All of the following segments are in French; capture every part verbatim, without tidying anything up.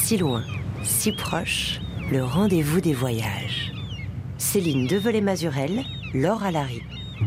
si loin, si proche, le rendez-vous des voyages. Céline Develay-Mazurel, Laure Alary.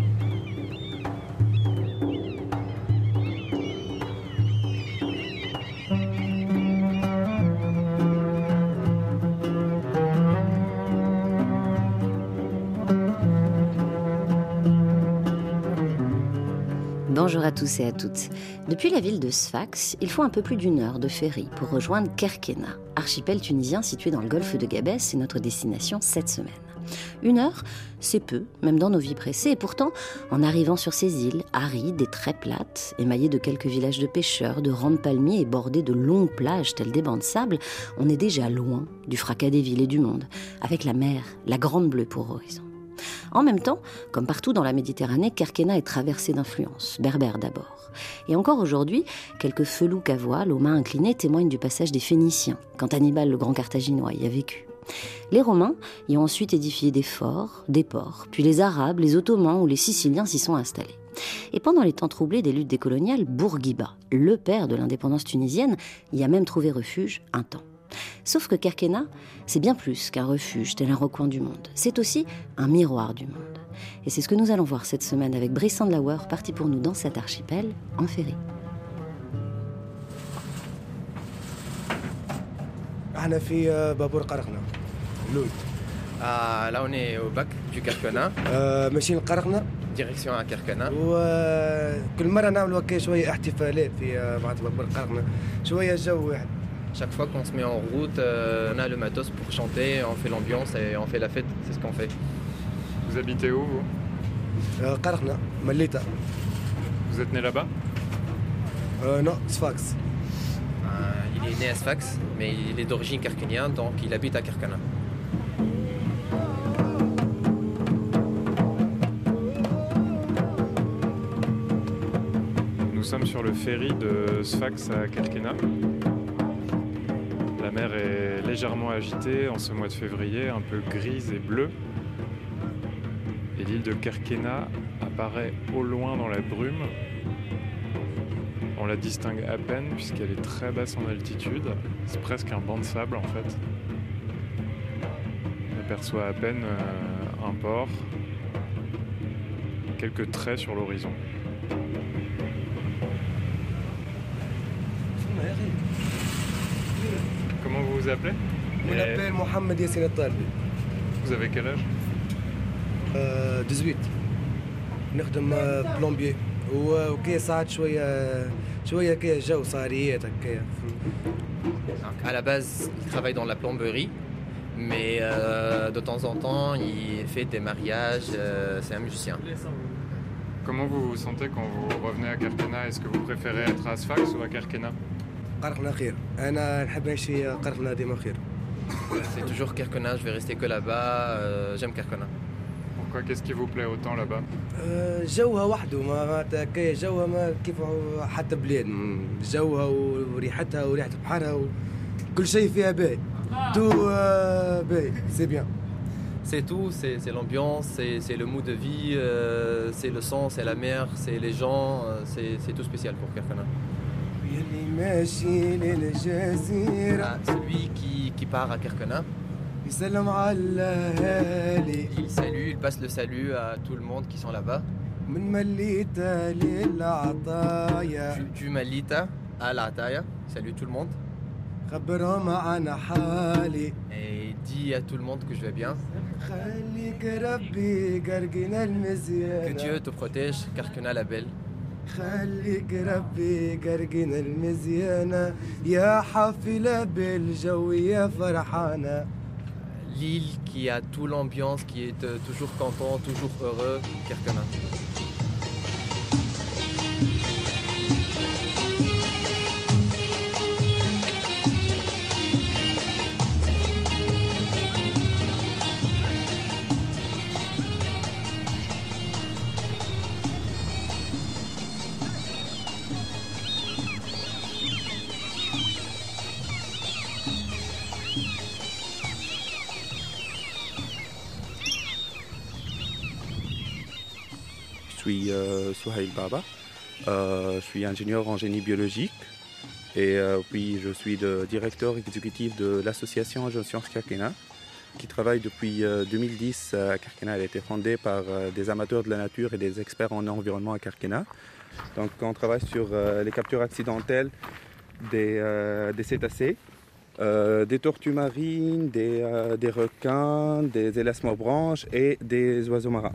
Bonjour à tous et à toutes. Depuis la ville de Sfax, il faut un peu plus d'une heure de ferry pour rejoindre Kerkena, archipel tunisien situé dans le golfe de Gabès et notre destination cette semaine. Une heure, c'est peu, même dans nos vies pressées, et pourtant, en arrivant sur ces îles arides et très plates, émaillées de quelques villages de pêcheurs, de rangs de palmiers et bordées de longues plages telles des bancs de sable, on est déjà loin du fracas des villes et du monde, avec la mer, la grande bleue pour horizon. En même temps, comme partout dans la Méditerranée, Kerkena est traversée d'influences, berbères d'abord. Et encore aujourd'hui, quelques felouks à voile aux mains inclinées témoignent du passage des Phéniciens, quand Hannibal le grand Carthaginois y a vécu. Les Romains y ont ensuite édifié des forts, des ports, puis les Arabes, les Ottomans ou les Siciliens s'y sont installés. Et pendant les temps troublés des luttes décoloniales, Bourguiba, le père de l'indépendance tunisienne, y a même trouvé refuge un temps. Sauf que Kerkena, c'est bien plus qu'un refuge tel un recoin du monde. C'est aussi un miroir du monde. Et c'est ce que nous allons voir cette semaine avec Brice Sandlauer, parti pour nous dans cet archipel en ferry. احنا في بابور قرقنة لود. Ah, là, on est au bac du Kerkena, ماشيين لقرقنة direction à Kerkena. وكل مرة نعملوا هكا شوية احتفالات في معناتها بابور قرقنة شوية جو واحد. Chaque fois qu'on se met en route, euh, on a le matos pour chanter, on fait l'ambiance et on fait la fête, c'est ce qu'on fait. Vous habitez où, vous قرقنة مليتة. Vous êtes né là-bas Non, Sfax. Euh, il est né à Sfax, mais il est d'origine kerkénienne, donc il habite à Kerkena. Nous sommes sur le ferry de Sfax à Kerkena. La mer est légèrement agitée en ce mois de février, un peu grise et bleue. Et l'île de Kerkena apparaît au loin dans la brume. On la distingue à peine puisqu'elle est très basse en altitude. C'est presque un banc de sable en fait. On aperçoit à peine euh, un port, quelques traits sur l'horizon. Comment vous vous appelez? Je m'appelle Mohamed Yassine Talbi. Vous avez quel âge? euh, dix-huit. نخدم بلومبيي وكي ساعات شوية شوية كي جو صاريات هكايا. À la base, il travaille dans la plomberie, mais euh, de temps en temps, il fait des mariages, euh, c'est un musicien. Comment vous vous sentez quand vous revenez à Kerkena? Est-ce que vous préférez être à Sfax ou à Kerkena? قرقنة خير. أنا نحب نمشي قرقنة ديما خير. C'est toujours Kerkena, je vais rester que là-bas, euh, j'aime Kerkena. Pourquoi? Qu'est-ce qui vous plaît autant là-bas? جوها وحده ما هكايا جوها ما كيف حتى بلاد جوها وريحتها وريحة بحرها وكل شيء فيها باهي. تو باهي سي بيان. C'est tout, c'est, c'est l'ambiance, c'est, c'est le mood de vie, euh, c'est le son, c'est la mer, c'est les gens, euh, c'est, c'est tout spécial pour Kerkena. Ah, celui qui, qui part à Kerkena, il salue, il passe le salut à tout le monde qui sont là-bas. Du, du Malita à l'Ataya, salue tout le monde. Et dit à tout le monde que je vais bien. Que Dieu te protège, Kerkena la belle. خليك ربي قرقنا المزيانة يا حافلة بالجو يا فرحانة. L'île qui a toute l'ambiance, qui est euh, toujours content, toujours heureux, Kerkena. Je suis euh, Souhail Baba, euh, je suis ingénieur en génie biologique Et euh, puis je suis le directeur exécutif de l'association Jeunes Sciences Kerkena, qui travaille depuis euh, deux mille dix à Kerkena. Elle a été fondée par euh, des amateurs de la nature et des experts en environnement à Kerkena. Donc on travaille sur euh, les captures accidentelles des, euh, des cétacés, euh, des tortues marines, des, euh, des requins, des élasmobranches et des oiseaux marins.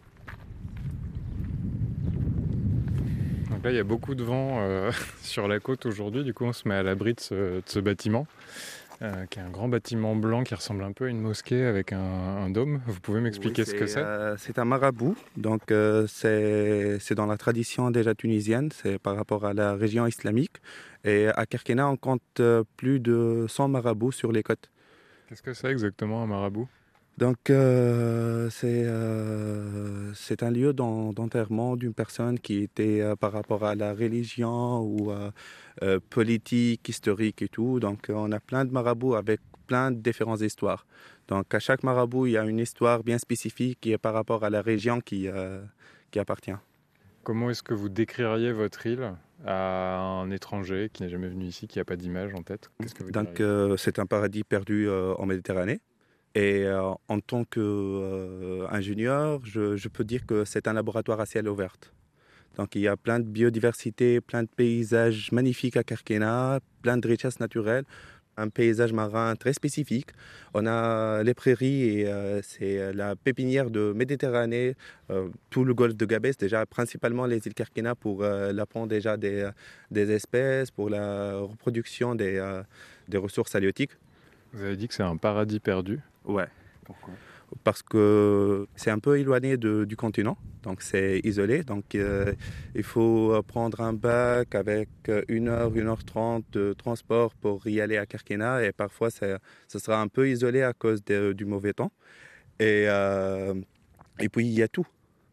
Donc là, il y a beaucoup de vent euh, sur la côte aujourd'hui. Du coup, on se met à l'abri de ce, de ce bâtiment, euh, qui est un grand bâtiment blanc qui ressemble un peu à une mosquée avec un, un dôme. Vous pouvez m'expliquer Oui, ce que c'est euh, C'est un marabout. Donc, euh, c'est, c'est dans la tradition déjà tunisienne. C'est par rapport à la région islamique. Et à Kerkena, on compte euh, plus de cent marabouts sur les côtes. Qu'est-ce que c'est exactement un marabout ? Donc, euh, c'est, euh, c'est un lieu d'en, d'enterrement d'une personne qui était euh, par rapport à la religion ou euh, euh, politique, historique et tout. Donc, on a plein de marabouts avec plein de différentes histoires. Donc, à chaque marabout, il y a une histoire bien spécifique qui est par rapport à la région qui, euh, qui appartient. Comment est-ce que vous décririez votre île à un étranger qui n'est jamais venu ici, qui n'a pas d'image en tête ? Qu'est-ce que vous Donc, euh, c'est un paradis perdu euh, en Méditerranée. Et euh, en tant qu'ingénieur, euh, je, je peux dire que c'est un laboratoire à ciel ouvert. Donc il y a plein de biodiversité, plein de paysages magnifiques à Kerkena, plein de richesses naturelles, un paysage marin très spécifique. On a les prairies et euh, c'est la pépinière de Méditerranée, euh, tout le golfe de Gabès, déjà principalement les îles Kerkena pour euh, l'apport déjà des, des espèces, pour la reproduction des, euh, des ressources halieutiques. Vous avez dit que c'est un paradis perdu. Ouais. Pourquoi ? Parce que c'est un peu éloigné de, du continent, donc c'est isolé. Donc euh, il faut prendre un bac avec une heure, une heure trente de transport pour y aller à Kerkena. Et parfois, ça, ça sera un peu isolé à cause de, du mauvais temps. Et, euh, et puis, il y a tout.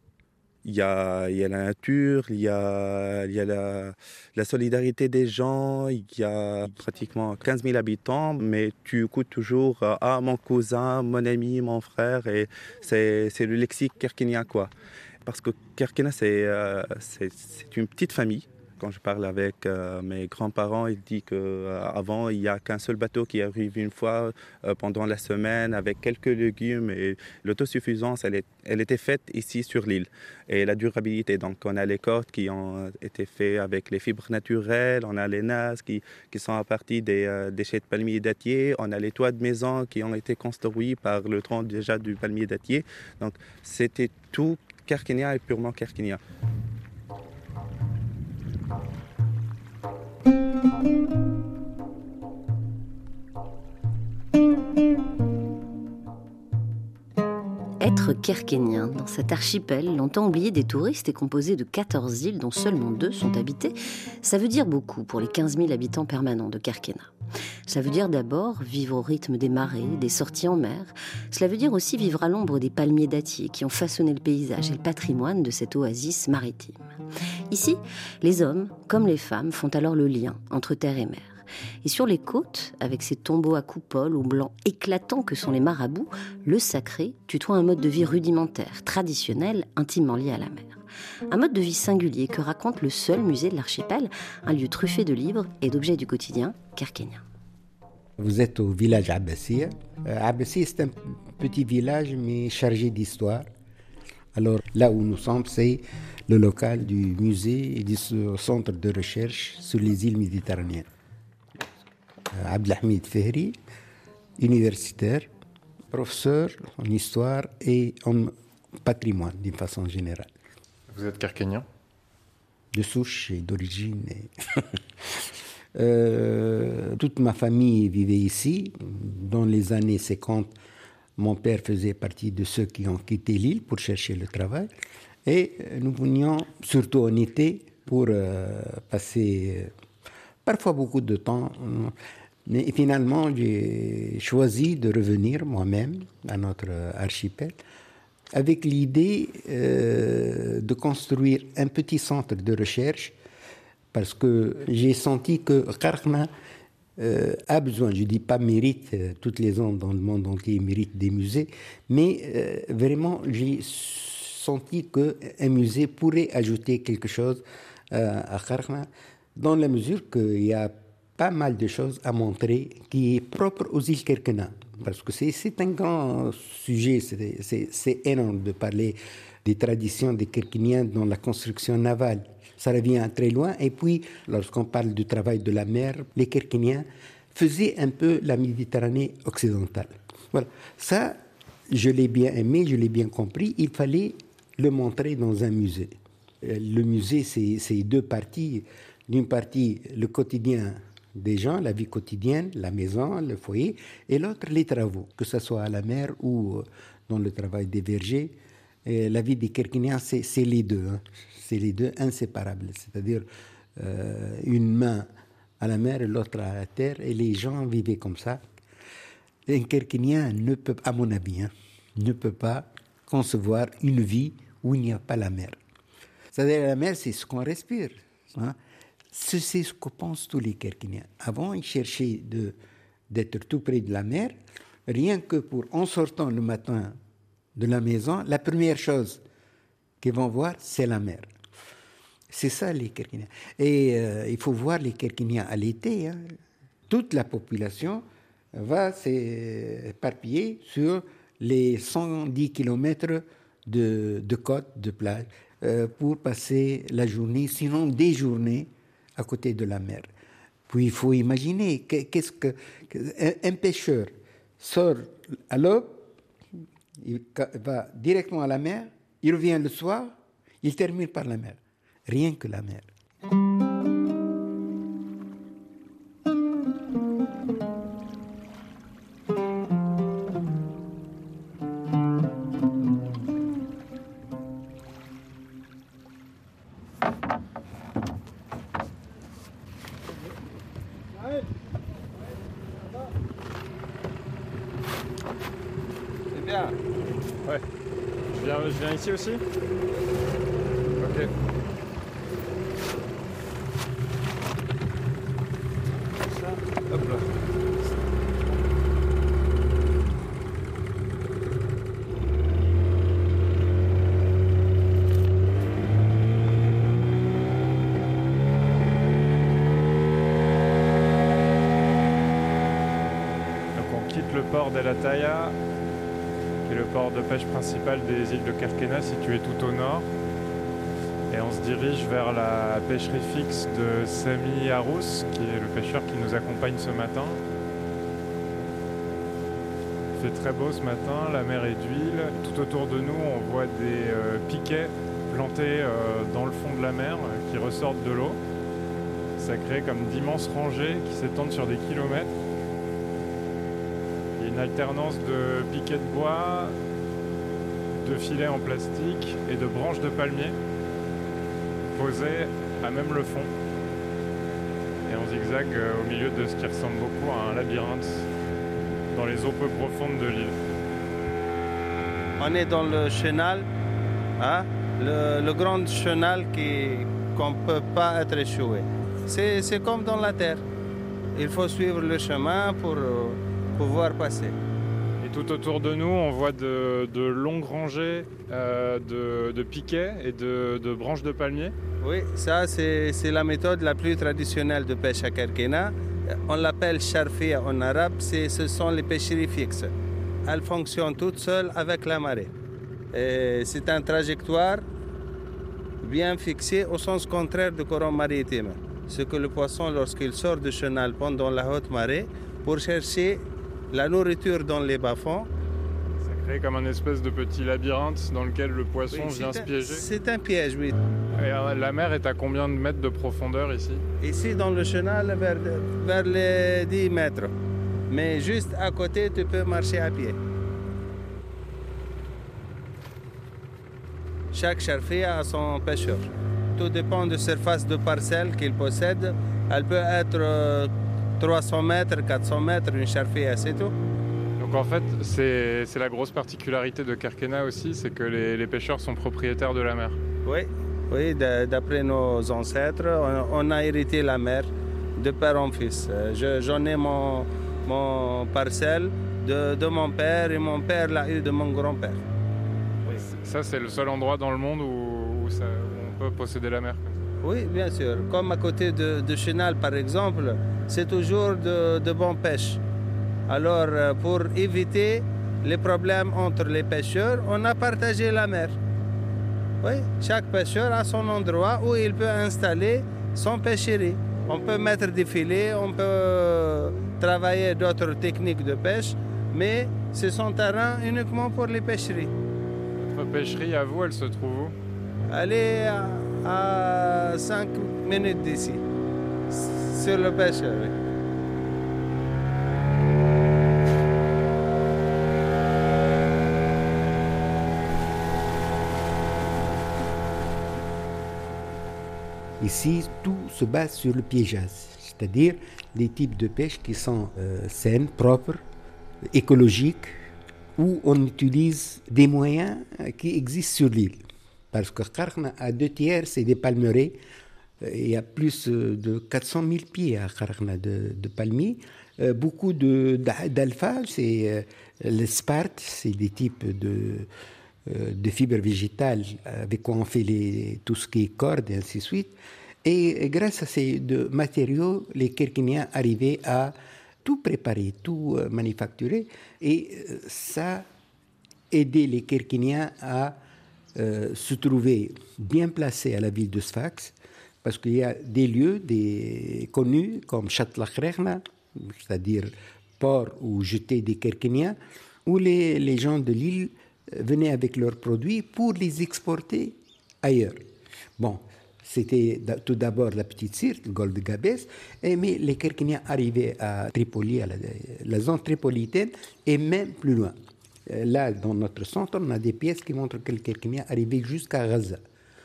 Il y a, il y a la nature, il y a, il y a la, la solidarité des gens, il y a pratiquement quinze mille habitants, mais tu écoutes toujours « Ah, mon cousin, mon ami, mon frère », et c'est, c'est le lexique kerkénien, quoi. Parce que Kerkena, c'est, euh, c'est, c'est une petite famille. Quand je parle avec euh, mes grands-parents, ils disent qu'avant, euh, il n'y a qu'un seul bateau qui arrive une fois euh, pendant la semaine avec quelques légumes. Et l'autosuffisance, elle, est, elle était faite ici sur l'île. Et la durabilité, donc on a les cordes qui ont été faites avec les fibres naturelles, on a les nasses qui, qui sont à partir des euh, déchets de palmier dattier, on a les toits de maison qui ont été construits par le tronc déjà du palmier dattier. Donc c'était tout kerkénien et purement kerkénien. Être kerkénien dans cet archipel, longtemps oublié des touristes et composé de quatorze îles dont seulement deux sont habitées, ça veut dire beaucoup pour les quinze mille habitants permanents de Kerkena. Ça veut dire d'abord vivre au rythme des marées, des sorties en mer. Cela veut dire aussi vivre à l'ombre des palmiers dattiers qui ont façonné le paysage et le patrimoine de cette oasis maritime. Ici, les hommes, comme les femmes, font alors le lien entre terre et mer. Et sur les côtes, avec ces tombeaux à coupoles aux blancs éclatants que sont les marabouts, le sacré tutoie un mode de vie rudimentaire, traditionnel, intimement lié à la mer. Un mode de vie singulier que raconte le seul musée de l'archipel, un lieu truffé de livres et d'objets du quotidien kerkénien. Vous êtes au village Abbassia. Euh, Abbassia, c'est un petit village, mais chargé d'histoire. Alors, là où nous sommes, c'est le local du musée et du centre de recherche sur les îles méditerranéennes. Euh, Abdelhamid Fehri, universitaire, professeur en histoire et en patrimoine d'une façon générale. Vous êtes kerkénien ? De souche et d'origine. Et euh, toute ma famille vivait ici. Dans les années cinquante, mon père faisait partie de ceux qui ont quitté l'île pour chercher le travail. Et nous venions, surtout en été, pour euh, passer euh, parfois beaucoup de temps. Mais finalement, j'ai choisi de revenir moi-même à notre archipel avec l'idée euh, de construire un petit centre de recherche parce que j'ai senti que Kerkena euh, a besoin, je ne dis pas mérite, euh, toutes les zones dans le monde entier méritent des musées, mais euh, vraiment j'ai senti qu'un musée pourrait ajouter quelque chose euh, à Kerkena dans la mesure qu'il y a pas mal de choses à montrer qui est propre aux îles Kerkena. Parce que c'est, c'est un grand sujet, c'est, c'est, c'est énorme de parler des traditions des Kerkéniens dans la construction navale. Ça revient très loin. Et puis, lorsqu'on parle du travail de la mer, les Kerkéniens faisaient un peu la Méditerranée occidentale. Voilà. Ça, je l'ai bien aimé, je l'ai bien compris. Il fallait le montrer dans un musée. Le musée, c'est, c'est deux parties. D'une partie, le quotidien des gens, la vie quotidienne, la maison, le foyer, et l'autre, les travaux, que ce soit à la mer ou dans le travail des vergers. Et la vie des Kerkéniens, c'est, c'est les deux. Hein. C'est les deux inséparables. C'est-à-dire euh, une main à la mer et l'autre à la terre, et les gens vivaient comme ça. Un Kerkénien ne peut, à mon avis, hein, ne peut pas concevoir une vie où il n'y a pas la mer. C'est-à-dire la mer, c'est ce qu'on respire. Hein. C'est ce que pensent tous les Kerkéniens. Avant, ils cherchaient de, d'être tout près de la mer, rien que pour, en sortant le matin de la maison, la première chose qu'ils vont voir, c'est la mer. C'est ça, les Kerkéniens. Et euh, il faut voir les Kerkéniens à l'été. Hein. Toute la population va s'éparpiller sur les cent dix kilomètres de, de côte, de plage, euh, pour passer la journée, sinon des journées, à côté de la mer. Puis il faut imaginer qu'est-ce que un pêcheur sort à l'aube, il va directement à la mer, il revient le soir, il termine par la mer. Rien que la mer. Ouais. Je viens, je viens ici aussi ? Ok. Ça, hop là. Donc on quitte le port d'El Ataya, qui est le port de pêche principal des îles de Kerkéna, situé tout au nord. Et on se dirige vers la pêcherie fixe de Sami Harous, qui est le pêcheur qui nous accompagne ce matin. Il fait très beau ce matin, la mer est d'huile. Tout autour de nous, on voit des euh, piquets plantés euh, dans le fond de la mer euh, qui ressortent de l'eau. Ça crée comme d'immenses rangées qui s'étendent sur des kilomètres. Il y a une alternance de piquets de bois, de filets en plastique et de branches de palmier posées à même le fond. Et on zigzague au milieu de ce qui ressemble beaucoup à un labyrinthe dans les eaux peu profondes de l'île. On est dans le chenal, hein, le, le grand chenal qui, qu'on ne peut pas être échoué. C'est, c'est comme dans la terre. Il faut suivre le chemin pour euh, pouvoir passer. Et tout autour de nous, on voit de, de longues rangées euh, de, de piquets et de, de branches de palmier. Oui, ça c'est, c'est la méthode la plus traditionnelle de pêche à Kerkéna. On l'appelle charfia en arabe, c'est, ce sont les pêcheries fixes. Elles fonctionnent toutes seules avec la marée. Et c'est une trajectoire bien fixée au sens contraire du courant maritime. Ce que le poisson, lorsqu'il sort du chenal pendant la haute marée, pour chercher la nourriture dans les bas-fonds. Ça crée comme un espèce de petit labyrinthe dans lequel le poisson oui, vient se piéger. C'est un piège, oui. Et la mer est à combien de mètres de profondeur ici ? Ici, dans le chenal, vers, vers les dix mètres. Mais juste à côté, tu peux marcher à pied. Chaque charfia a son pêcheur. Tout dépend de la surface de parcelle qu'il possède. Elle peut être euh, trois cents mètres, quatre cents mètres, une charfia, c'est tout. Donc en fait, c'est, c'est la grosse particularité de Kerkéna aussi, c'est que les, les pêcheurs sont propriétaires de la mer. Oui, oui, d'après nos ancêtres, on, on a hérité la mer de père en fils. Je, j'en ai mon, mon parcelle de, de mon père et mon père l'a eu de mon grand-père. Oui. Ça, c'est le seul endroit dans le monde où, où, ça, où on peut posséder la mer. Oui, bien sûr. Comme à côté de, de Chenal, par exemple, c'est toujours de, de bonne pêche. Alors, pour éviter les problèmes entre les pêcheurs, on a partagé la mer. Oui, chaque pêcheur a son endroit où il peut installer son pêcherie. On peut mettre des filets, on peut travailler d'autres techniques de pêche, mais c'est son terrain uniquement pour les pêcheries. Votre pêcherie, à vous, elle se trouve où? Elle est à, à cinq minutes d'ici, sur le pêcheur. Oui. Ici, tout se base sur le piégeage, c'est-à-dire les types de pêche qui sont euh, saines, propres, écologiques, où on utilise des moyens qui existent sur l'île. Parce que Qarqna, à deux tiers, c'est des palmeraies. Il y a plus de quatre cent mille pieds à Qarqna de, de palmiers. Euh, beaucoup de, d'alpha, c'est euh, le sparte, c'est des types de, euh, de fibres végétales avec quoi on fait les, tout ce qui est cordes et ainsi de suite. Et, et grâce à ces deux matériaux, les Kerkiniens arrivaient à tout préparer, tout euh, manufacturer. Et euh, ça aidait les Kerkiniens à euh, se trouver bien placés à la ville de Sfax, parce qu'il y a des lieux des, connus comme Chatlakrechna, c'est-à-dire port où jetaient des Kerkiniens, où les, les gens de l'île venaient avec leurs produits pour les exporter ailleurs. Bon, c'était tout d'abord la petite Sirte, le golfe de Gabès, et, mais les Kerkiniens arrivaient à Tripoli, à la, la zone tripolitaine, et même plus loin. Là, dans notre centre, on a des pièces qui montrent que les Kerkiniens arrivaient jusqu'à Gaza,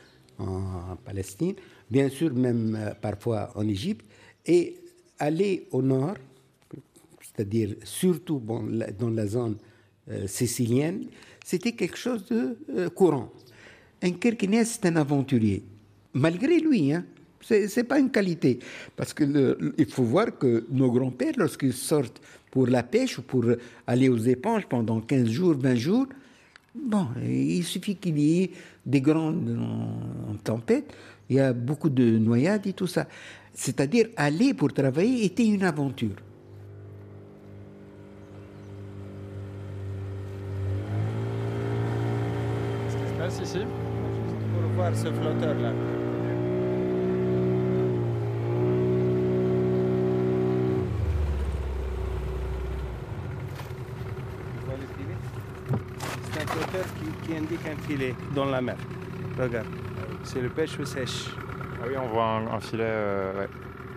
en Palestine, bien sûr même euh, parfois en Égypte, et aller au nord, c'est-à-dire surtout bon, la, dans la zone euh, sicilienne, c'était quelque chose de euh, courant. Un Kerkinien, c'est un aventurier. Malgré lui, hein, c'est, c'est pas une qualité. Parce que le, le, il faut voir que nos grands-pères, lorsqu'ils sortent pour la pêche ou pour aller aux éponges pendant quinze jours, vingt jours, bon, il suffit qu'il y ait des grandes en, en tempête, il y a beaucoup de noyades et tout ça. C'est-à-dire, aller pour travailler était une aventure. Qu'est-ce qui se passe ici? Juste pour voir ce flotteur-là. C'est un flotteur qui, qui indique un filet dans la mer. Regarde, c'est le pêche ou sèche. Ah oui, on voit un, un filet. Euh, ouais.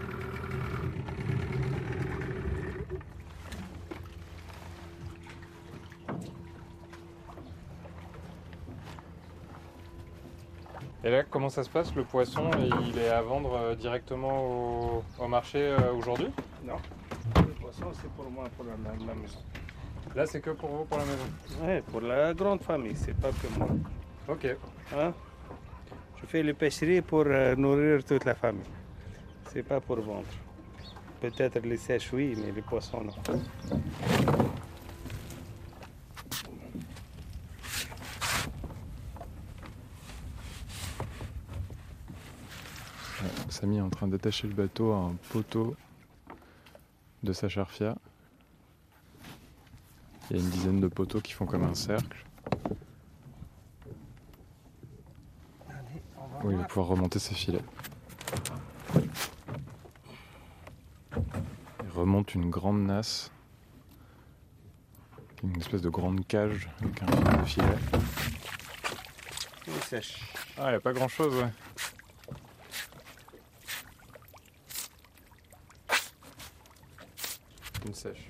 Et là, comment ça se passe? Le poisson, il est à vendre directement au, au marché euh, aujourd'hui? Non, le poisson c'est pour moi, pour la, la, la maison. Là, c'est que pour vous, pour la maison? Oui, pour la grande famille, c'est pas que moi. Ok. Hein? Je fais les pêcheries pour euh, nourrir toute la famille. C'est pas pour vendre. Peut-être les sèches, oui, mais les poissons, non. Samy est en train d'attacher le bateau à un poteau de sa charfia. Il y a une dizaine de poteaux qui font comme un cercle. Où il va pouvoir remonter ses filets. Il remonte une grande nasse. Une espèce de grande cage avec un filet. Il sèche. Ah, il n'y a pas grand chose, ouais. Une sèche.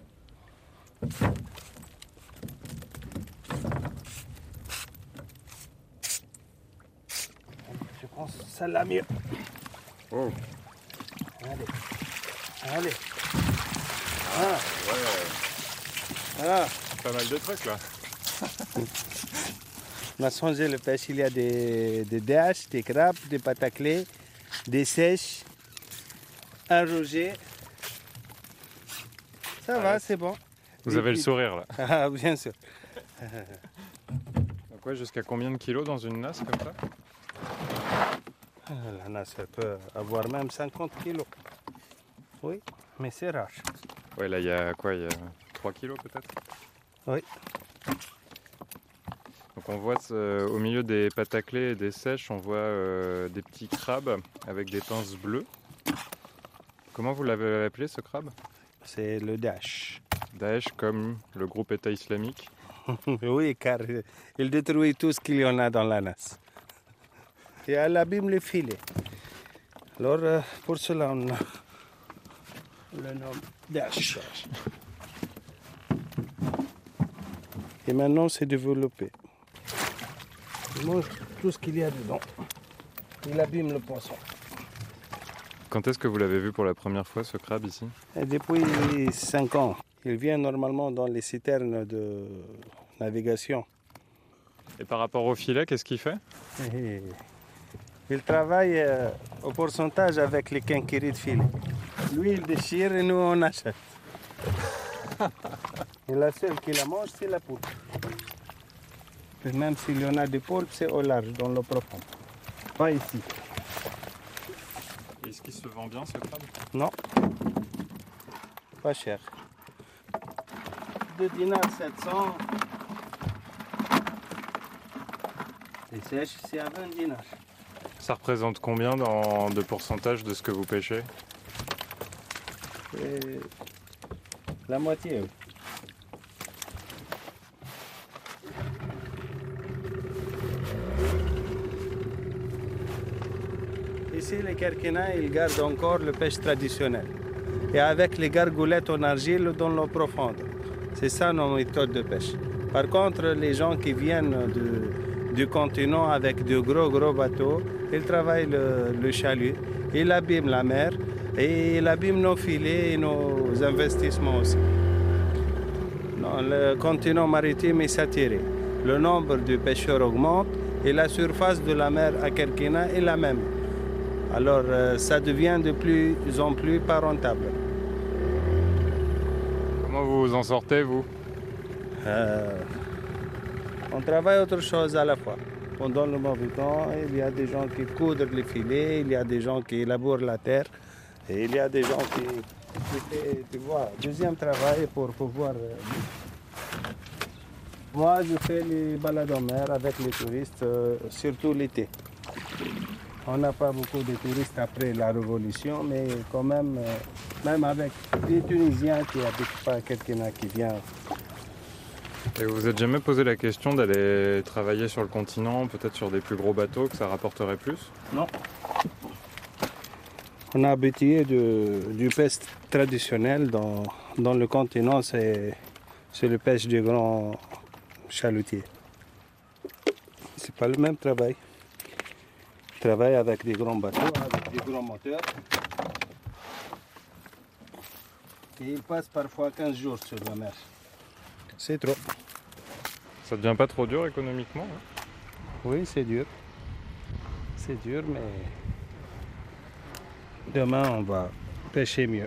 Je pense celle-là mieux. Oh. Allez. Allez. Ah. Ouais. Voilà. Pas mal de trucs là. On a changé le pêche. Il y a des, des D H, des crabes, des pâtes à clé, des sèches, un rouget. Ça va, c'est bon. Vous avez le sourire là. Ah, bien sûr. Donc ouais, jusqu'à combien de kilos dans une nasse comme ça? La nasse peut avoir même cinquante kilos. Oui, mais c'est rare. Ouais, là, il y a quoi? Il y a trois kilos peut-être? Oui. Donc on voit euh, au milieu des pâtes à clé et des sèches, on voit euh, des petits crabes avec des pinces bleues. Comment vous l'avez appelé ce crabe? C'est le Daesh. Daesh comme le groupe État islamique? Oui, car il détruit tout ce qu'il y en a dans la nasse. Et elle abîme les filets. Alors, euh, pour cela, on a le nom Daesh. Et maintenant, c'est développé. Il mange tout ce qu'il y a dedans. Il abîme le poisson. Quand est-ce que vous l'avez vu pour la première fois, ce crabe, ici? Et depuis cinq ans. Il vient normalement dans les citernes de navigation. Et par rapport au filet, qu'est-ce qu'il fait? Et il travaille euh, au pourcentage avec les quinqueries de filet. Lui, il déchire et nous, on achète. Et la seule qui la mange, c'est la poule. Et même s'il y en a des poules, c'est au large, dans l'eau profonde. Pas ici. Est-ce qu'il se vend bien, ce crabe? Non. Pas cher. deux dinars sept cents. Les sèches, c'est à vingt dinars. Ça représente combien dans, de pourcentage de ce que vous pêchez? Et la moitié, oui. Ici, les Kerkina, ils gardent encore le pêche traditionnel. Et avec les gargoulettes en argile dans l'eau profonde. C'est ça nos méthodes de pêche. Par contre, les gens qui viennent de, du continent avec de gros, gros bateaux, ils travaillent le, le chalut, ils abîment la mer et ils abîment nos filets et nos investissements aussi. Non, le continent maritime est saturé. Le nombre de pêcheurs augmente et la surface de la mer à Kerkina est la même. Alors, euh, ça devient de plus en plus pas rentable. Comment vous vous en sortez, vous? euh, On travaille autre chose à la fois. Pendant le mauvais temps, il y a des gens qui coudrent les filets, il y a des gens qui labourent la terre, et il y a des gens qui, qui font, tu vois, deuxième travail pour pouvoir... Euh... Moi, je fais les balades en mer avec les touristes, euh, surtout l'été. On n'a pas beaucoup de touristes après la Révolution, mais quand même, euh, même avec des Tunisiens qui habitent pas Kerkina qui viennent. Et vous vous êtes jamais posé la question d'aller travailler sur le continent, peut-être sur des plus gros bateaux, que ça rapporterait plus? Non. On a habitué de, du pêche traditionnel dans, dans le continent, c'est, c'est le pêche du grand chalutier. C'est pas le même travail. On travaille avec des grands bateaux, avec des grands moteurs. Et ils passent parfois quinze jours sur la mer. C'est trop. Ça devient pas trop dur économiquement, hein? Oui, c'est dur. C'est dur, mais demain, on va pêcher mieux.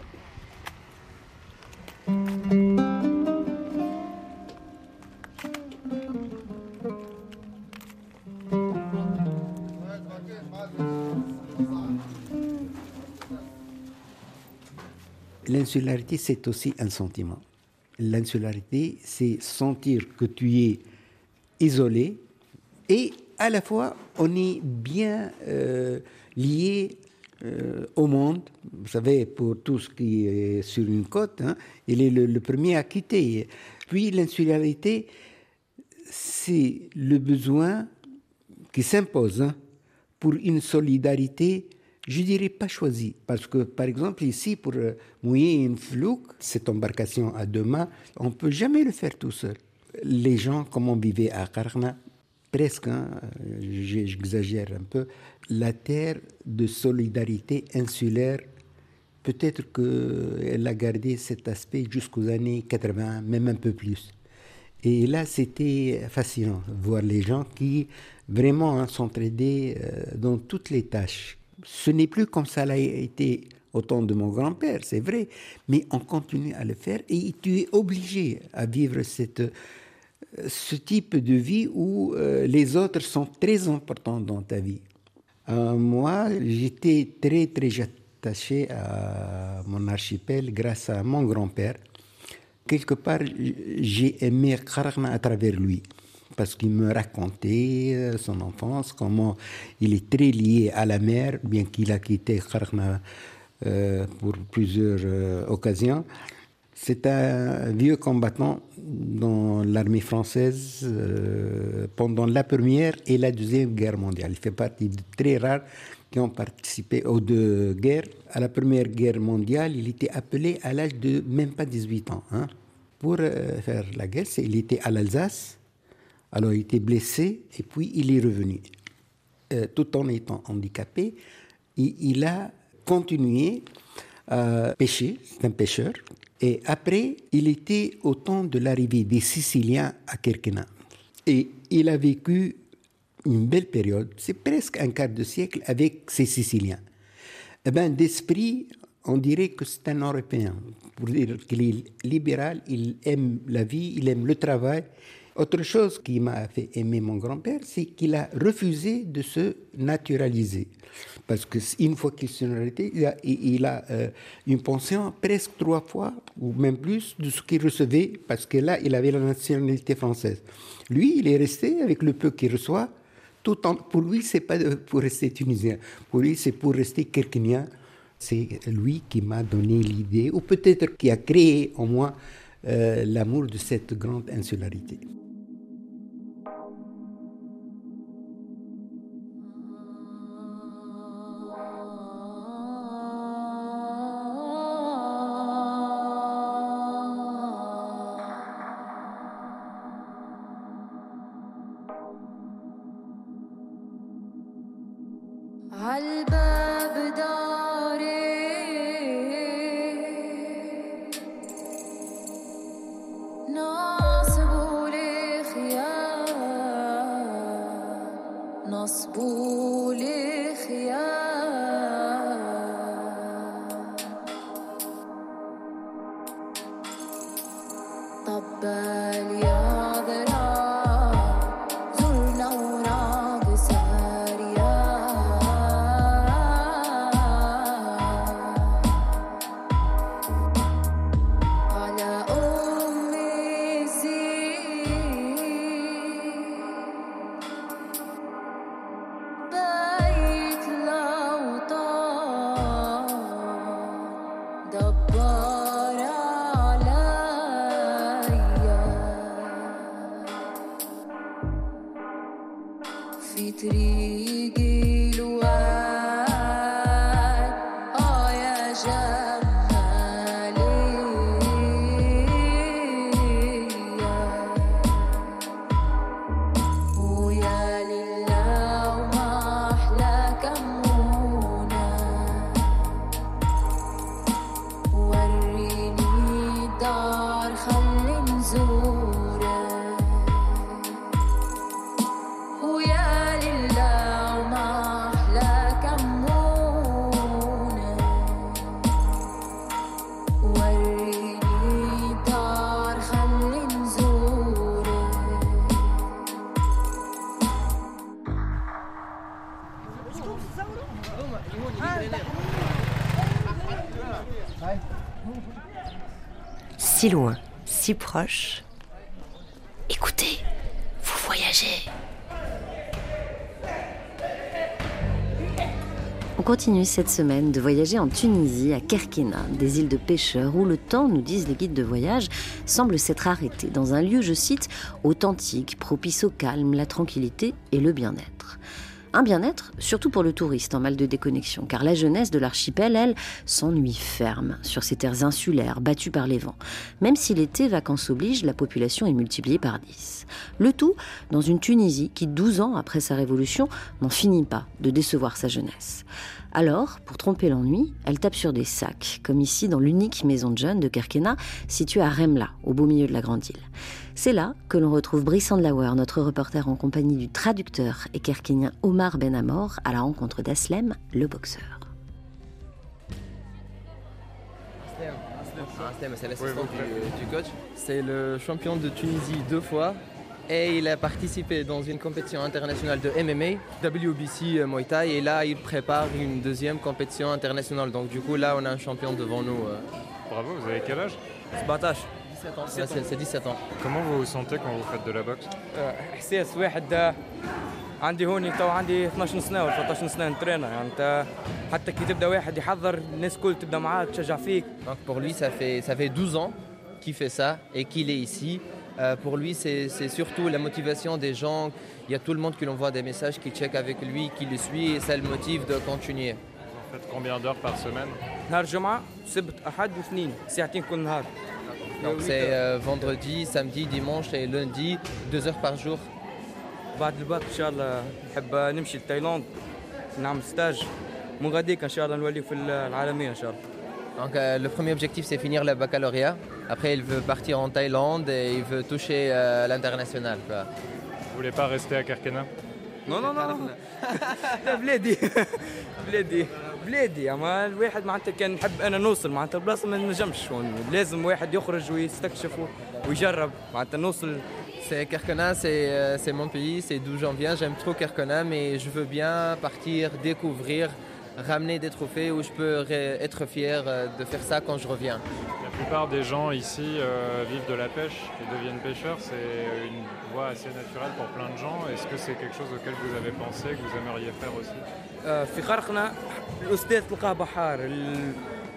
L'insularité, c'est aussi un sentiment. L'insularité, c'est sentir que tu es isolé et à la fois, on est bien euh, lié euh, au monde. Vous savez, pour tout ce qui est sur une côte, hein, il est le, le premier à quitter. Puis l'insularité, c'est le besoin qui s'impose hein, pour une solidarité, je dirais pas choisie. Parce que, par exemple, ici, pour mouiller une flouque, cette embarcation à deux mains, on ne peut jamais le faire tout seul. Les gens, comme on vivait à Karna, presque, hein, j'exagère un peu, la terre de solidarité insulaire, peut-être qu'elle a gardé cet aspect jusqu'aux années quatre-vingts, même un peu plus. Et là, c'était fascinant, voir les gens qui vraiment hein, s'entraidaient euh, dans toutes les tâches. Ce n'est plus comme ça l'a été au temps de mon grand-père, c'est vrai, mais on continue à le faire et tu es obligé à vivre cette, ce type de vie où euh, les autres sont très importants dans ta vie. Euh, moi, j'étais très, très attaché à mon archipel grâce à mon grand-père. Quelque part, j'ai aimé Qaraqna à travers lui, parce qu'il me racontait son enfance, comment il est très lié à la mer, bien qu'il a quitté Qaraqna euh, pour plusieurs euh, occasions. C'est un vieux combattant dans l'armée française euh, pendant la Première et la Deuxième Guerre mondiale. Il fait partie de très rares qui ont participé aux deux guerres. À la Première Guerre mondiale, il était appelé à l'âge de même pas dix-huit ans hein, pour euh, faire la guerre. Il était à l'Alsace, alors il était blessé et puis il est revenu. Euh, tout en étant handicapé, il, il a continué à pêcher, c'est un pêcheur. Et après, il était au temps de l'arrivée des Siciliens à Kerkena. Et il a vécu une belle période, c'est presque un quart de siècle avec ces Siciliens. Eh bien, d'esprit, on dirait que c'est un Européen. Pour dire qu'il est libéral, il aime la vie, il aime le travail. Autre chose qui m'a fait aimer mon grand-père, c'est qu'il a refusé de se naturaliser. Parce qu'une fois qu'il s'est naturalisé, il a, il a euh, une pension presque trois fois, ou même plus, de ce qu'il recevait, parce que là, il avait la nationalité française. Lui, il est resté avec le peu qu'il reçoit. Tout en, pour lui, ce n'est pas pour rester tunisien. Pour lui, c'est pour rester kerkenien. C'est lui qui m'a donné l'idée, ou peut-être qui a créé en moi euh, l'amour de cette grande insularité. Si loin, si proche. Écoutez, vous voyagez. On continue cette semaine de voyager en Tunisie, à Kerkena, des îles de pêcheurs, où le temps, nous disent les guides de voyage, semble s'être arrêté dans un lieu, je cite, authentique, propice au calme, la tranquillité et le bien-être. Un bien-être, surtout pour le touriste en mal de déconnexion, car la jeunesse de l'archipel, elle, s'ennuie ferme sur ces terres insulaires battues par les vents. Même si l'été, vacances oblige, la population est multipliée par dix. Le tout dans une Tunisie qui, douze ans après sa révolution, n'en finit pas de décevoir sa jeunesse. Alors, pour tromper l'ennui, elle tape sur des sacs, comme ici dans l'unique maison de jeunes de Kerkena, située à Remla, au beau milieu de la grande île. C'est là que l'on retrouve Brice Andlauer, notre reporter en compagnie du traducteur et kerkénien Omar Benamor, à la rencontre d'Aslem, le boxeur. Aslem, c'est l'assistant du, du coach. C'est le champion de Tunisie deux fois Et il a participé dans une compétition internationale de M M A, W B C Muay Thai, et là il prépare une deuxième compétition internationale. Donc du coup là on a un champion devant nous. euh. Bravo, vous avez quel âge? سبعطاش dix-sept ans. Ouais, c'est c'est dix-sept ans. Comment vous vous sentez quand vous faites de la boxe? احساس واحد عندي هوني تو عندي اثناش سنه ولا ثلاثطاش سنه نترينا يعني انت حتى كي تبدا واحد يحضر الناس الكل تبدا معاك تشجع فيك. Donc pour lui ça fait, ça fait douze ans qu'il fait ça et qu'il est ici. Euh, pour lui c'est, c'est surtout la motivation des gens. Il y a tout le monde qui lui envoie des messages, qui check avec lui, qui le suit et ça le motive de continuer. Vous faites combien d'heures par semaine? نهار الجمعه سبت احد واثنين ساعتين كل نهار. Donc c'est euh, vendredi, samedi, dimanche et lundi, deux heures par jour. بعد الباك ان شاء الله نحب نمشي لتايلاند نعمل ستاج من غاديك ان شاء الله نولي في العالميه ان شاء الله. Donc euh, le premier objectif c'est finir le baccalauréat. Après il veut partir en Thaïlande et il veut toucher euh, l'international. Quoi. Vous voulez pas rester à Kerkena? نو نو نو لا بلادي بلادي بلادي اما الواحد معناتها كان نحب انا نوصل معناتها البلاصه ما نجمش لازم واحد يخرج ويستكشف ويجرب معناتها نوصل. C'est Kerkena, c'est, euh, c'est mon pays, c'est d'où j'en viens. J'aime trop Kerkena, mais je veux bien partir, découvrir, ramener des trophées où je peux ré- être fier euh, de faire ça quand je reviens. La plupart des gens ici euh, vivent de la pêche et deviennent pêcheurs. C'est une voie assez naturelle pour plein de gens. Est-ce que c'est quelque chose auquel vous avez pensé, que vous aimeriez faire aussi? في خرقنا الاستاذ تلقاه بحار ال-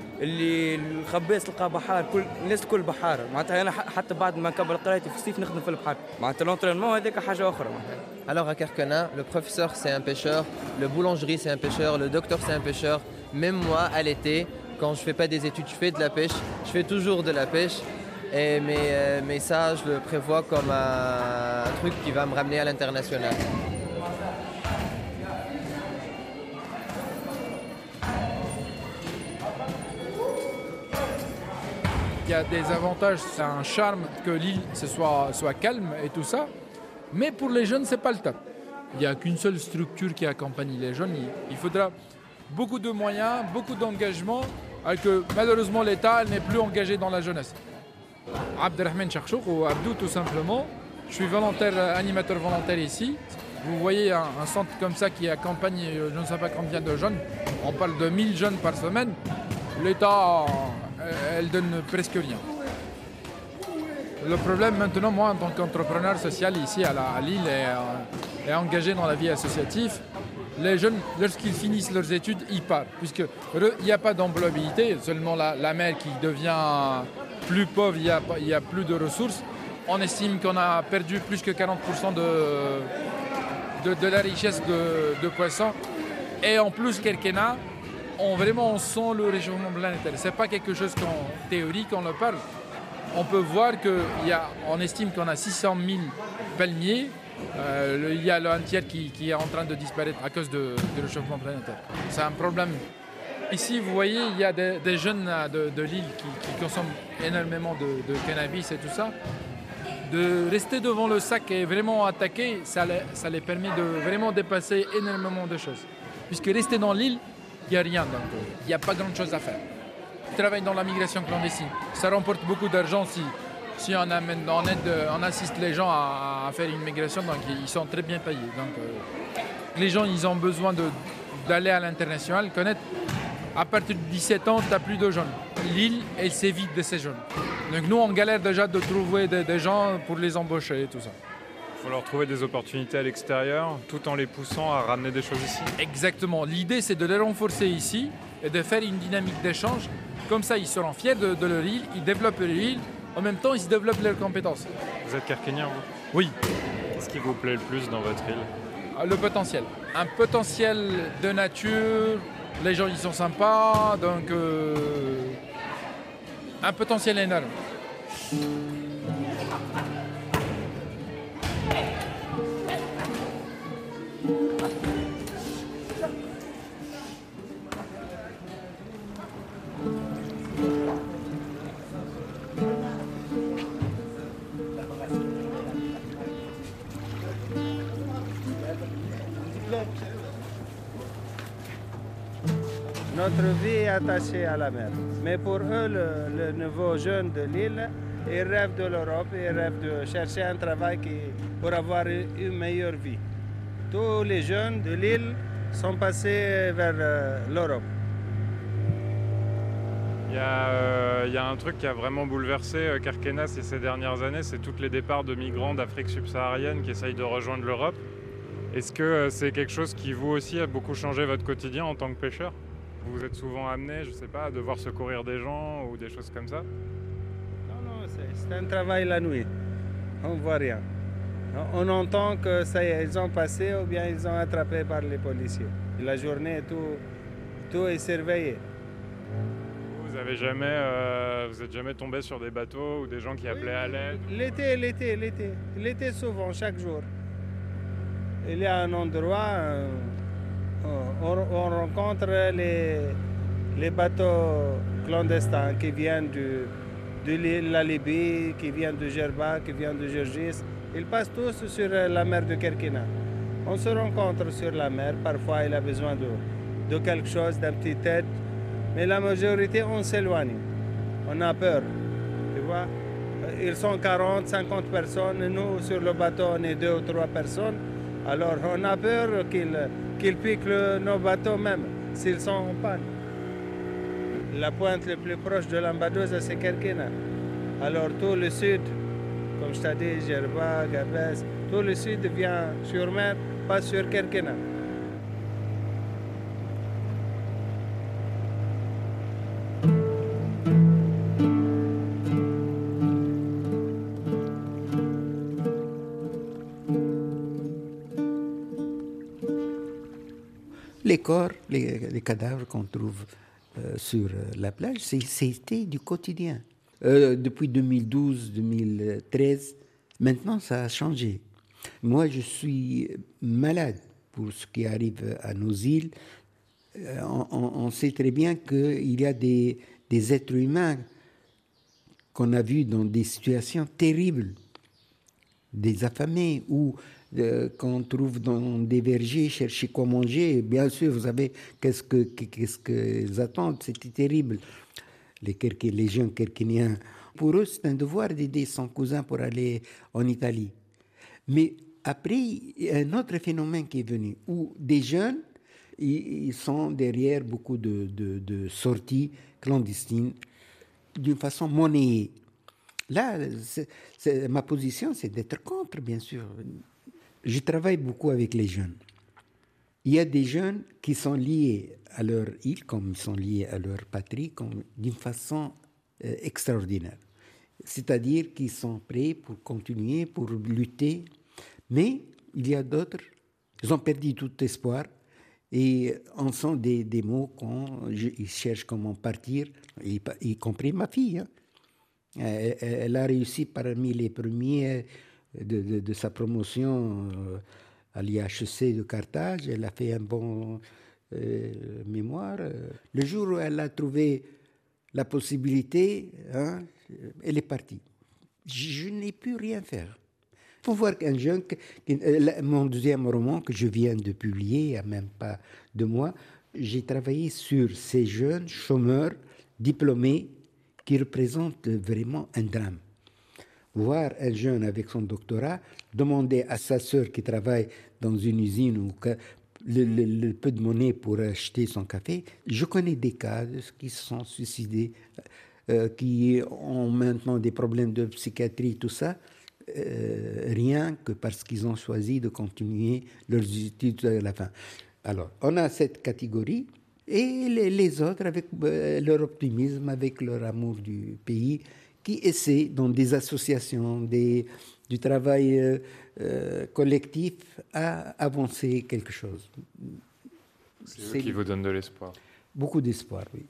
اللي الخباز تلقاه بحار كل الناس الكل بحار معناتها انا ح- حتى بعد ما نكمل قرايتي في الصيف نخدم في البحر معناتها لونترينمون هذيك حاجه اخرى. Alors à Kerkena, le professeur c'est un pêcheur, le boulangerie c'est un pêcheur, le docteur c'est un pêcheur. Même moi à l'été, quand je fais pas des études, je fais de la pêche. Je fais toujours de la pêche. Et mais, euh, mais ça, je le prévois comme un, un truc qui va me ramener à l'international. Il y a des avantages, c'est un charme que l'île ce soit, soit calme et tout ça. Mais pour les jeunes, c'est pas le top. Il n'y a qu'une seule structure qui accompagne les jeunes. Il, il faudra beaucoup de moyens, beaucoup d'engagement, alors que malheureusement l'État n'est plus engagé dans la jeunesse. Abdelrahman Charchouk ou Abdou tout simplement. Je suis volontaire, animateur volontaire ici. Vous voyez un, un centre comme ça qui accompagne je ne sais pas combien de jeunes. On parle de mille jeunes par semaine. L'État, elle donne presque rien. Le problème maintenant, moi en tant qu'entrepreneur social ici à, la, à Lille et, et engagé dans la vie associative, les jeunes, lorsqu'ils finissent leurs études, ils partent. Puisqu'il n'y a pas d'employabilité, seulement la, la mer qui devient plus pauvre, il n'y a, il y a plus de ressources. On estime qu'on a perdu plus que quarante pour cent de, de, de la richesse de, de poissons. Et en plus, Kerkena, on, vraiment, on sent le réchauffement planétaire. Ce n'est pas quelque chose qu'en théorie, qu'on le parle. On peut voir qu'on estime qu'on a six cent mille palmiers. Euh, il y a un tiers qui, qui est en train de disparaître à cause de, de réchauffement planétaire. C'est un problème. Ici, vous voyez, il y a des, des jeunes de, de l'île qui, qui consomment énormément de, de cannabis et tout ça. De rester devant le sac et vraiment attaquer, ça les, ça les permet de vraiment dépasser énormément de choses. Puisque rester dans l'île, il n'y a rien. Donc, il n'y a pas grand-chose à faire. Ils travaillent dans la migration clandestine. Ça remporte beaucoup d'argent si, si on, amène, on, aide, on assiste les gens à, à faire une migration. Donc, ils sont très bien payés. Donc, euh, les gens, ils ont besoin de, d'aller à l'international, connaître. À partir de dix-sept ans, tu n'as plus de jeunes. L'île, elle s'évite de ces jeunes. Donc nous, on galère déjà de trouver des, des gens pour les embaucher et tout ça. Il faut leur trouver des opportunités à l'extérieur, tout en les poussant à ramener des choses ici. Exactement. L'idée, c'est de les renforcer ici et de faire une dynamique d'échange. Comme ça, ils seront fiers de, de leur île, ils développent leur île. En même temps, ils développent leurs compétences. Vous êtes Kerkenien, vous? Oui. Qu'est-ce qui vous plaît le plus dans votre île? Le potentiel. Un potentiel de nature. Les gens, ils sont sympas, donc euh, un potentiel énorme. Notre vie est attachée à la mer. Mais pour eux, le, le nouveau jeune de l'île, Ils rêvent de l'Europe, ils rêvent de chercher un travail qui, pour avoir une meilleure vie. Tous les jeunes de l'île sont passés vers euh, l'Europe. Il y, a, euh, il y a un truc qui a vraiment bouleversé euh, Kerkena ces, ces dernières années, c'est tous les départs de migrants d'Afrique subsaharienne qui essayent de rejoindre l'Europe. Est-ce que euh, c'est quelque chose qui, vous aussi, a beaucoup changé votre quotidien en tant que pêcheur? Vous êtes souvent amené, je ne sais pas, à devoir secourir des gens ou des choses comme ça? Non, non, c'est, c'est un travail la nuit. On ne voit rien. On entend que ça y est, ils ont passé ou bien ils sont attrapés par les policiers. La journée, tout, tout est surveillé. Vous avez jamais, euh, vous êtes jamais tombé sur des bateaux ou des gens qui appelaient à l'aide? L'été, l'été, l'été. L'été souvent, chaque jour. Il y a un endroit, euh, on, on rencontre les, les bateaux clandestins qui viennent du, de la Libye, qui viennent de Gerba, qui viennent de Gergis. Ils passent tous sur la mer de Kerkena. On se rencontre sur la mer. Parfois, il a besoin de, de quelque chose, d'un petit aide. Mais la majorité, on s'éloigne. On a peur. Tu vois? Ils sont quarante, cinquante personnes. Nous, sur le bateau, on est deux ou trois personnes. Alors, on a peur qu'ils qu'ils piquent le, nos bateaux même, s'ils sont en panne. La pointe la plus proche de l'Ambadosa, c'est Kerkena. Alors, tout le sud, comme je t'ai dit, Gerba, Gabès, tout le sud vient sur mer, pas sur Kerkena. Les corps, les, les cadavres qu'on trouve euh, sur la plage, c'est, c'était du quotidien. Euh, depuis deux mille douze, deux mille treize, maintenant ça a changé. Moi, je suis malade pour ce qui arrive à nos îles. Euh, on, on sait très bien qu'il y a des, des êtres humains qu'on a vus dans des situations terribles, des affamés ou Euh, qu'on trouve dans des vergers, chercher quoi manger. Bien sûr, vous savez, qu'est-ce, que, qu'est-ce qu'ils attendent, c'était terrible. Les, Kerké, les jeunes Kerkéniens, pour eux, c'est un devoir d'aider son cousin pour aller en Italie. Mais après, il y a un autre phénomène qui est venu, où des jeunes, ils, ils sont derrière beaucoup de, de, de sorties clandestines, d'une façon monnayée. Là, c'est, c'est, ma position, c'est d'être contre, bien sûr. Je travaille beaucoup avec les jeunes. Il y a des jeunes qui sont liés à leur île, comme ils sont liés à leur patrie, comme, d'une façon euh, extraordinaire. C'est-à-dire qu'ils sont prêts pour continuer, pour lutter. Mais il y a d'autres, ils ont perdu tout espoir et en sont des, des mots quand je, ils cherchent comment partir, y, y compris ma fille. Hein. Elle, elle a réussi parmi les premiers De, de, de sa promotion euh, à l'I H E C de Carthage. Elle a fait un bon euh, mémoire. Le jour où elle a trouvé la possibilité, hein, elle est partie. Je, je n'ai pu rien faire. Il faut voir qu'un jeune, euh, mon deuxième roman que je viens de publier, il n'y a même pas deux mois, j'ai travaillé sur ces jeunes chômeurs diplômés qui représentent vraiment un drame. Voir un jeune avec son doctorat demander à sa sœur qui travaille dans une usine ou que le, le, le peu de monnaie pour acheter son café. Je connais des cas de ceux qui se sont suicidés, euh, qui ont maintenant des problèmes de psychiatrie, tout ça, euh, rien que parce qu'ils ont choisi de continuer leurs études à la fin. Alors, on a cette catégorie et les, les autres avec euh, leur optimisme, avec leur amour du pays, qui essaient, dans des associations, des, du travail euh, euh, collectif, à avancer quelque chose. C'est, C'est eux qui vous donnent de l'espoir. Beaucoup d'espoir, oui.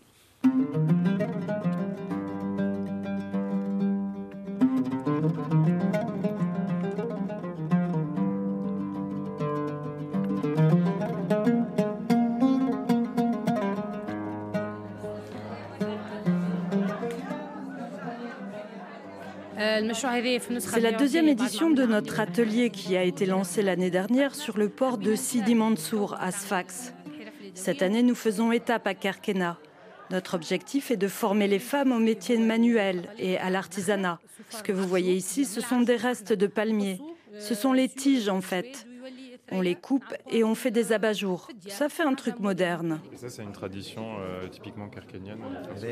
C'est la deuxième édition de notre atelier qui a été lancé l'année dernière sur le port de Sidi Mansour à Sfax. Cette année, nous faisons étape à Kerkena. Notre objectif est de former les femmes aux métiers manuels et à l'artisanat. Ce que vous voyez ici, ce sont des restes de palmiers. Ce sont les tiges en fait. On les coupe et on fait des abat-jours. Ça fait un truc moderne. Et ça, c'est une tradition euh, typiquement kerkénienne.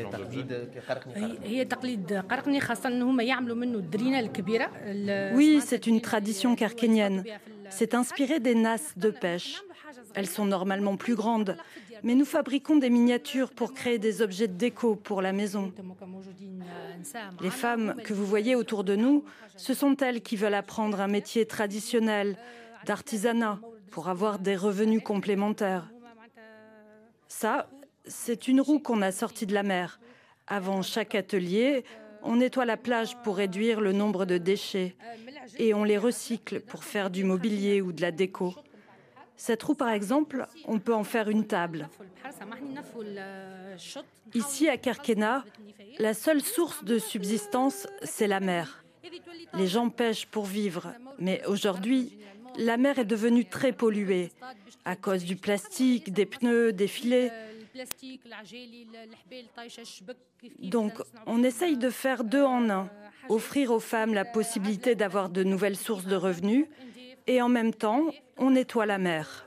Oui, c'est une tradition kerkénienne. C'est inspiré des nasses de pêche. Elles sont normalement plus grandes, mais nous fabriquons des miniatures pour créer des objets de déco pour la maison. Les femmes que vous voyez autour de nous, ce sont elles qui veulent apprendre un métier traditionnel, d'artisanat, pour avoir des revenus complémentaires. Ça, c'est une roue qu'on a sortie de la mer. Avant chaque atelier, on nettoie la plage pour réduire le nombre de déchets et on les recycle pour faire du mobilier ou de la déco. Cette roue, par exemple, on peut en faire une table. Ici, à Kerkéna, la seule source de subsistance, c'est la mer. Les gens pêchent pour vivre, mais aujourd'hui, la mer est devenue très polluée à cause du plastique, des pneus, des filets. Donc, on essaye de faire deux en un, offrir aux femmes la possibilité d'avoir de nouvelles sources de revenus et en même temps, on nettoie la mer.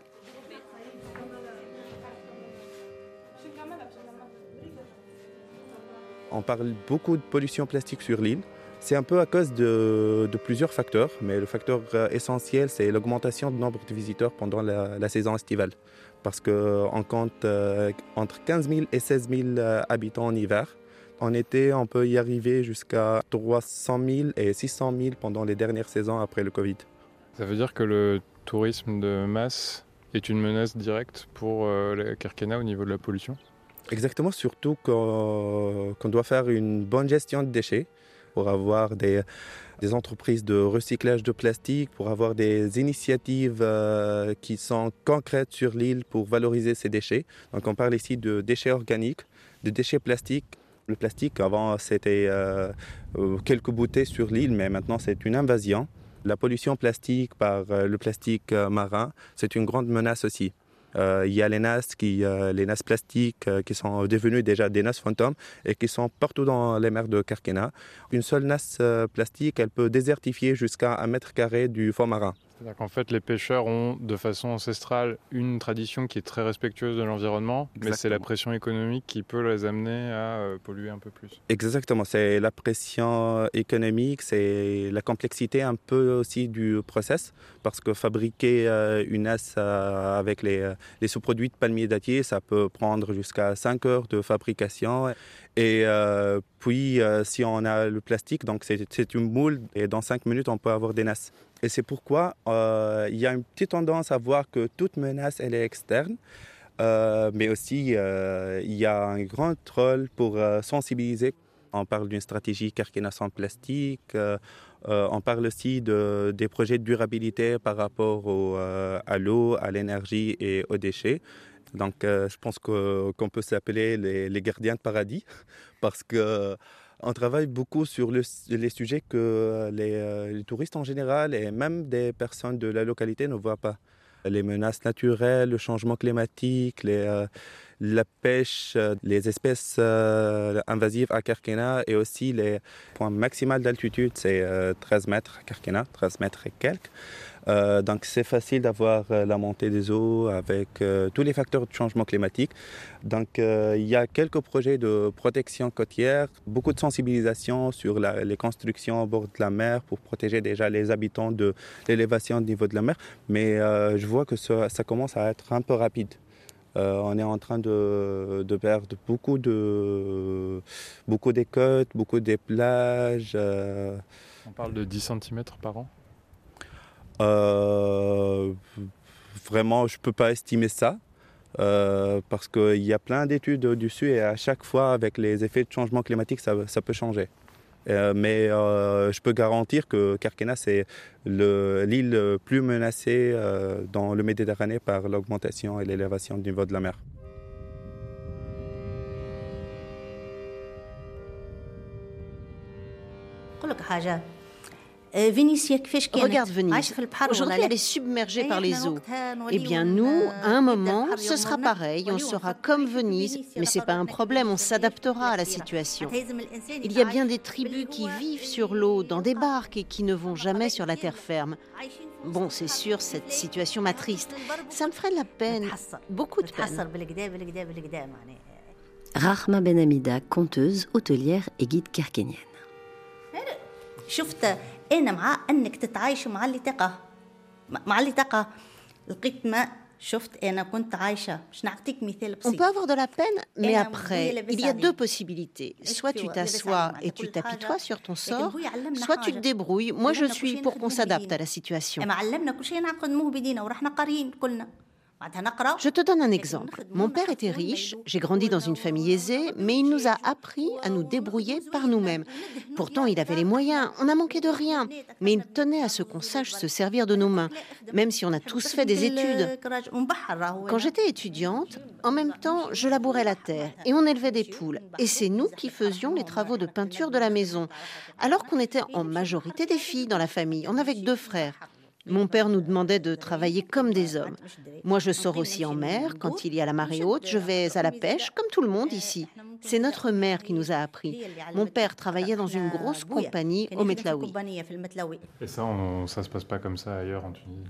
On parle beaucoup de pollution plastique sur l'île. C'est un peu à cause de, de plusieurs facteurs, mais le facteur essentiel, c'est l'augmentation du nombre de visiteurs pendant la, la saison estivale. Parce qu'on compte euh, entre quinze mille et seize mille euh, habitants en hiver. En été, on peut y arriver jusqu'à trois cent mille et six cent mille pendant les dernières saisons après le Covid. Ça veut dire que le tourisme de masse est une menace directe pour euh, la Kerkéna au niveau de la pollution ? Exactement, surtout qu'on, qu'on doit faire une bonne gestion de déchets pour avoir des, des entreprises de recyclage de plastique, pour avoir des initiatives euh, qui sont concrètes sur l'île pour valoriser ces déchets. Donc on parle ici de déchets organiques, de déchets plastiques. Le plastique, avant, c'était euh, quelques bouteilles sur l'île, mais maintenant c'est une invasion. La pollution plastique par euh, le plastique euh, marin, c'est une grande menace aussi. Euh, il y a les nasses, qui, euh, les nasses plastiques euh, qui sont devenues déjà des nasses fantômes et qui sont partout dans les mers de Kerkéna. Une seule nasse euh, plastique, elle peut désertifier jusqu'à un mètre carré du fond marin. C'est-à-dire qu'en fait, les pêcheurs ont de façon ancestrale une tradition qui est très respectueuse de l'environnement, Exactement. mais c'est la pression économique qui peut les amener à euh, polluer un peu plus. Exactement, c'est la pression économique, c'est la complexité un peu aussi du process, parce que fabriquer euh, une nasse euh, avec les, les sous-produits de palmier dattier, ça peut prendre jusqu'à cinq heures de fabrication. Et euh, puis, euh, si on a le plastique, donc c'est, c'est une moule, et dans cinq minutes, on peut avoir des nasses. Et c'est pourquoi euh, il y a une petite tendance à voir que toute menace, elle est externe. Euh, mais aussi, euh, il y a un grand rôle pour euh, sensibiliser. On parle d'une stratégie Kerkéna sans plastique. Euh, euh, on parle aussi de, des projets de durabilité par rapport au, euh, à l'eau, à l'énergie et aux déchets. Donc, euh, je pense que, qu'on peut s'appeler les, les gardiens de paradis parce que on travaille beaucoup sur le, les sujets que les, les touristes en général et même des personnes de la localité ne voient pas. Les menaces naturelles, le changement climatique, les, euh, la pêche, les espèces euh, invasives à Kerkéna et aussi les points maximaux d'altitude, c'est euh, treize mètres à Kerkéna, treize mètres et quelques. Euh, donc c'est facile d'avoir euh, la montée des eaux avec euh, tous les facteurs de changement climatique. Donc euh, il y a quelques projets de protection côtière, beaucoup de sensibilisation sur la, les constructions au bord de la mer pour protéger déjà les habitants de l'élévation au niveau de la mer. Mais euh, je vois que ça, ça commence à être un peu rapide. Euh, on est en train de, de perdre beaucoup de beaucoup des côtes, beaucoup des plages. Euh... On parle de dix centimètres par an ? Euh, vraiment, je ne peux pas estimer ça euh, parce qu'il y a plein d'études dessus et à chaque fois, avec les effets de changement climatique, ça, ça peut changer. Euh, mais euh, je peux garantir que Kerkéna, c'est le, l'île plus menacée euh, dans le Méditerranée par l'augmentation et l'élévation du niveau de la mer. Regarde Venise. Aujourd'hui, elle est submergée par les eaux. Eh bien, nous, à un moment, ce sera pareil. On sera comme Venise, mais ce n'est pas un problème. On s'adaptera à la situation. Il y a bien des tribus qui vivent sur l'eau, dans des barques, et qui ne vont jamais sur la terre ferme. Bon, c'est sûr, cette situation m'attriste. Ça me ferait de la peine, beaucoup de peine. Rahma Ben Hamida, conteuse, hôtelière et guide kerkénienne. أنا مع أنك تتعايش مع اللي تقع مع اللي تقع لقيت ما شفت أنا كنت عايشة مش نعطيك مثال بسيط. On peut avoir de la peine, mais après, il y a deux possibilités. Soit tu t'assois et tu t'apitoies sur ton sort, soit tu te débrouilles. Moi, je suis pour qu'on s'adapte à la situation. معلمنا كل شيء نعقدوه بدينا ورحنا قاريين كلنا. Je te donne un exemple. Mon père était riche, j'ai grandi dans une famille aisée, mais il nous a appris à nous débrouiller par nous-mêmes. Pourtant, il avait les moyens, on n'a manqué de rien, mais il tenait à ce qu'on sache se servir de nos mains, même si on a tous fait des études. Quand j'étais étudiante, en même temps, je labourais la terre et on élevait des poules. Et c'est nous qui faisions les travaux de peinture de la maison, alors qu'on était en majorité des filles dans la famille. On avait que deux frères. Mon père nous demandait de travailler comme des hommes. Moi, je sors aussi en mer. Quand il y a la marée haute, je vais à la pêche, comme tout le monde ici. C'est notre mère qui nous a appris. Mon père travaillait dans une grosse compagnie au Metlaoui. Et ça, on, ça se passe pas comme ça ailleurs en Tunisie?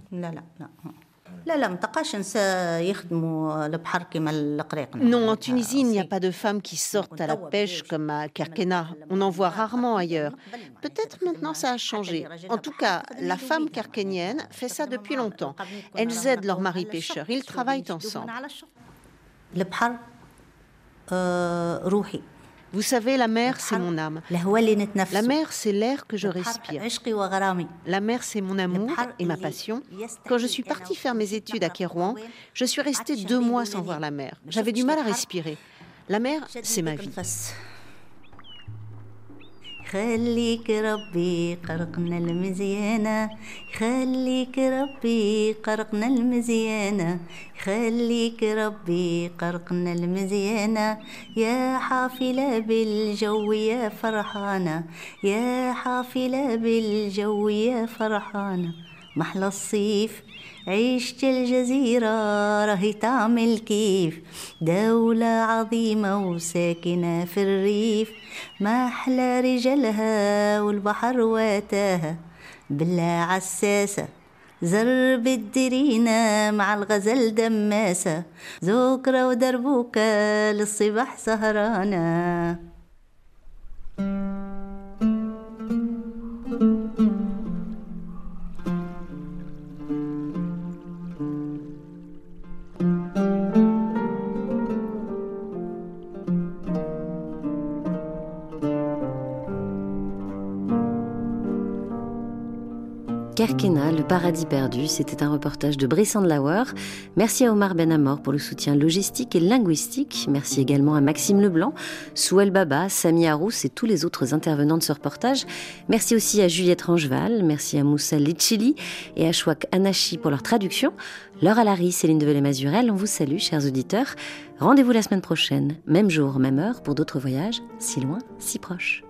Non, en Tunisie, il n'y a pas de femmes qui sortent à la pêche comme à Kerkena. On en voit rarement ailleurs. Peut-être maintenant ça a changé. En tout cas, la femme kerkénienne fait ça depuis longtemps. Elles aident leur mari pêcheur. Ils travaillent ensemble. Vous savez, la mer, c'est mon âme. La mer, c'est l'air que je respire. La mer, c'est mon amour et ma passion. Quand je suis partie faire mes études à Kérouan, je suis restée deux mois sans voir la mer. J'avais du mal à respirer. La mer, c'est ma vie. خليك ربي قرقنا المزيانة خليك ربي قرقنا المزيانة خليك ربي قرقنا المزيانة يا حافلة بالجو يا فرحانة يا حافلة بالجو يا فرحانة محلى الصيف عيشت الجزيرة راهي تعمل كيف دولة عظيمة وساكنة في الريف ما أحلى رجالها والبحر واتاها بالله عساسة زرب الدرينة مع الغزل دماسة ذكرى ودربوكة للصباح سهرانة. Kerkena, le paradis perdu, c'était un reportage de Brissan de Lauer. Merci à Omar Ben Amor pour le soutien logistique et linguistique. Merci également à Maxime Leblanc, Souel Baba, Sami Harous et tous les autres intervenants de ce reportage. Merci aussi à Juliette Rangeval, merci à Moussa Litchili et à Chouak Anachi pour leur traduction. Laure Alary, Céline Develay-Mazurel, on vous salue, chers auditeurs. Rendez-vous la semaine prochaine, même jour, même heure, pour d'autres voyages, si loin, si proches.